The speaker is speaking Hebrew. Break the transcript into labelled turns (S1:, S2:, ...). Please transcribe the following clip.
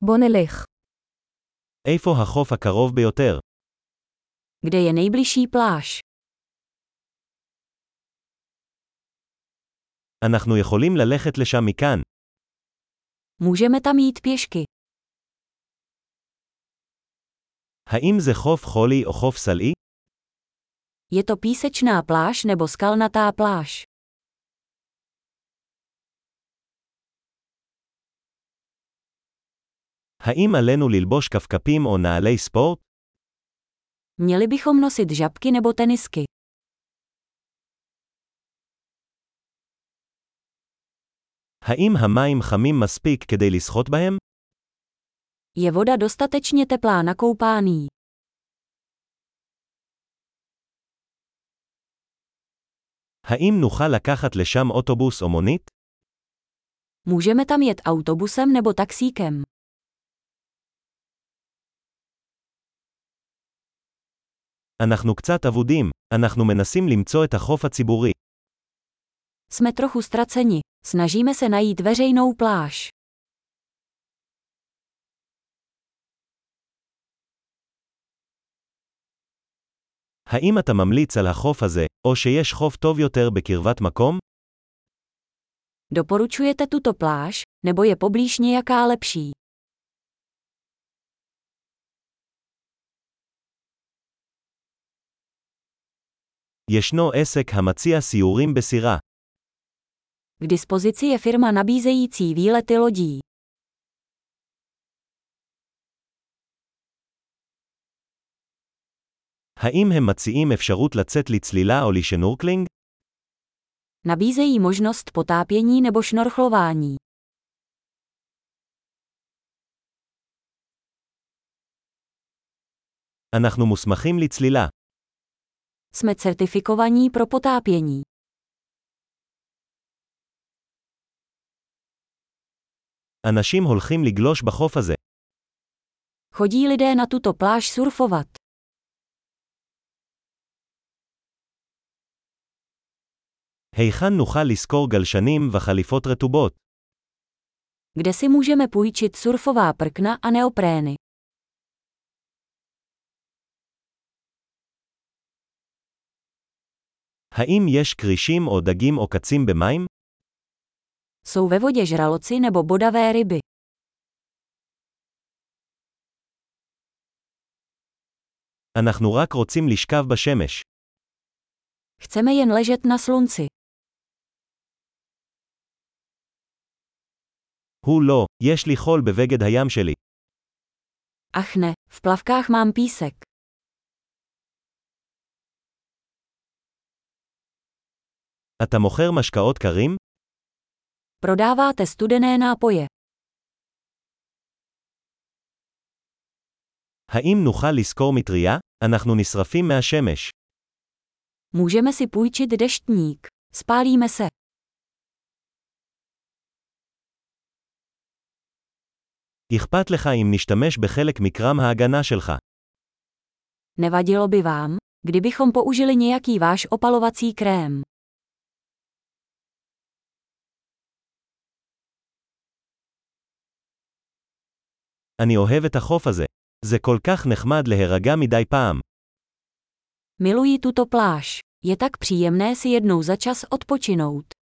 S1: בוא נלך.
S2: איפה החוף הקרוב ביותר?
S1: Kde je nejbližší pláž?
S2: אנחנו יכולים ללכת לשם מכאן.
S1: Můžeme tam jít pěšky.
S2: האם זה חוף חולי או חוף סלעי?
S1: Je to písečná pláž nebo skalnatá pláž?
S2: האם עלינו ללבוש כפכפים או נעלי ספורט?
S1: Měli bychom nosit žabky nebo tenisky.
S2: האם המים חמים מספיק כדי לשחות בהם?
S1: Je voda dostatečně teplá na koupání?
S2: האם נוכל לקחת לשם אוטובוס או מונית?
S1: Můžeme tam jet autobusem nebo taxíkem.
S2: אנחנו קצת אבודים, אנחנו מנסים למצוא את החוף הציבורי.
S1: Jsme trochu ztraceni. Snažíme se najít veřejnou pláž.
S2: האם אתה ממליץ על החוף הזה, או שיש חוף טוב יותר בקרבת מקום?
S1: Doporučujete tuto pláž, nebo je poblíž nějaká lepší?
S2: ישנו עסק המציע סיורים בסירה.
S1: K dispozici je firma nabízející výlety lodí.
S2: האם הם מציעים אפשרות לצאת לצלילה או לשנורקלינג?
S1: Nabízejí možnost potápění nebo šnorchlování.
S2: אנחנו מוסמכים לצלילה.
S1: Jsme certifikovaní pro potápění.
S2: אנשים הולכים לגלוש בחוף הזה.
S1: Chodí lidé na tuto pláž surfovat.
S2: היכן נוכל לשכור גלשנים וחליפות רטובות?
S1: Kde si můžeme půjčit surfová prkna a neoprény?
S2: האם יש קרישים או דגים או קצים במים?
S1: Jsou ve vodě žraloci nebo bodavé ryby?
S2: אנחנו רק רוצים לשכב בשמש.
S1: Chceme jen ležet na slunci.
S2: הוא לא, יש לי חול בבגד הים שלי.
S1: Ach ne, v plavkách mám písek.
S2: אתה מוכר משקאות קרים?
S1: Prodáváte studené nápoje.
S2: האם נוכל לשכור מטריה? אנחנו נשרפים מהשמש.
S1: Můžeme si půjčit deštník. Spálíme se.
S2: אכפת לך אם נשתמש בחלק מקרם ההגנה שלך.
S1: Nevadilo by vám, kdybychom použili nějaký váš opalovací krém.
S2: אני אוהב את החוף הזה. זה כל כך נחמד להירגע מדי פעם.
S1: Miluji tuto pláž. Je tak příjemné si jednou za čas odpočinout.